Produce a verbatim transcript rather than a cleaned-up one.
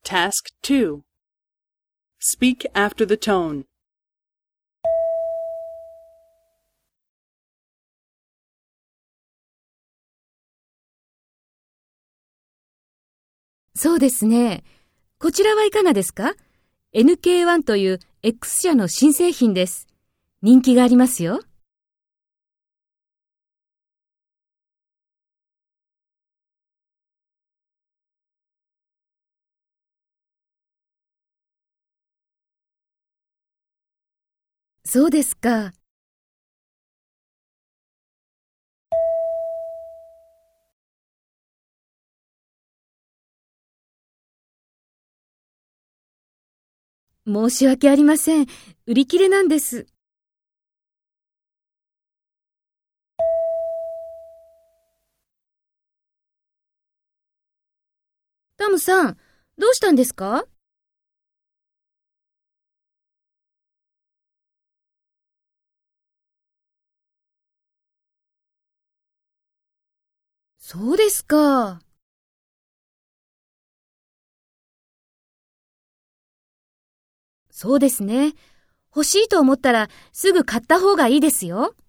Task two. Speak after the tone. そうですね。こちらはいかがですか？ エヌケーワン という X 社の新製品です。人気がありますよ。そうですか。申し訳ありません。売り切れなんです。タムさん、どうしたんですか？そうですか。そうですね。欲しいと思ったらすぐ買った方がいいですよ。